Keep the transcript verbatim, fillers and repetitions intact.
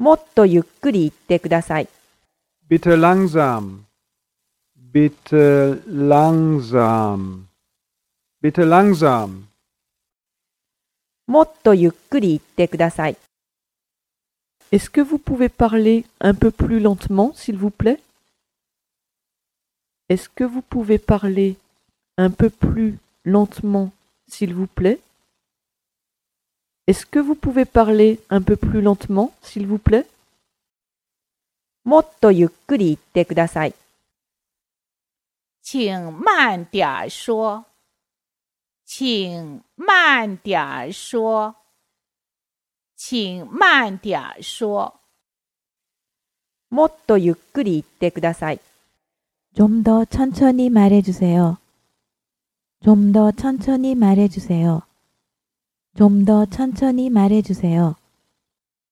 もっとゆっくり言ってください。 Bitte langsam. Bitte langsam. Bitte langsam. もっとゆっくり言ってください。 Est-ce que vous pouvez parler un peu plus lentement, s'il vous plaît? Est-ce que vous pouvez parler un peu plus lentement, s'il vous plaît? Est-ce que vous pouvez parler un peu plus lentement, s'il vous plaît? もっとゆっくり言ってください。 请慢点说。请慢点说。请慢点说。 もっとゆっくり言ってください。 좀 더 천천히 말해주세요. 좀 더 천천히 말해주세요. 좀 더 천천히 말해주세요.